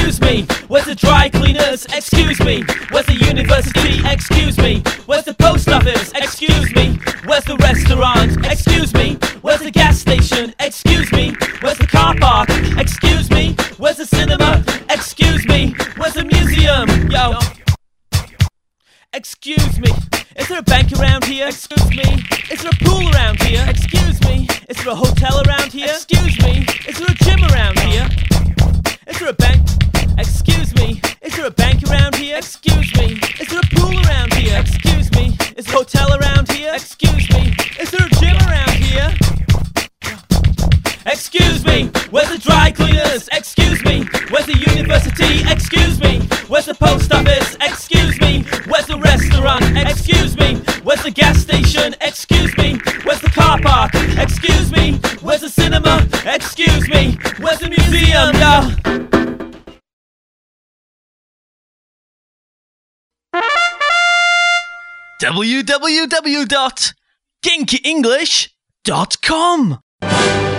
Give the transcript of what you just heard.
Excuse me, where's the dry cleaners? Excuse me, where's the university? Excuse me, where's the post office? Excuse me, where's the restaurant? Excuse me, where's the gas station? Excuse me, where's the car park? Excuse me, where's the cinema? Excuse me, where's the museum? Yo. Excuse me, is there a bank around here? Excuse me, is there a pool around here? Excuse me, is there a hotel around here? Excuse me, is there a gym around here? Is there a bank? Excuse me, is there a bank around here? Excuse me, is there a pool around here? Excuse me, is there a hotel around here? Excuse me, is there a gym around here? Excuse me, where's the dry cleaners? Excuse me, where's the university? Excuse me, where's the post office? Excuse me, where's the restaurant? Excuse me, where's the gas station? Excuse me, where's the car park? Excuse me, where's the cinema? Excuse me, where's the museum? Yo. www.ginkyenglish.com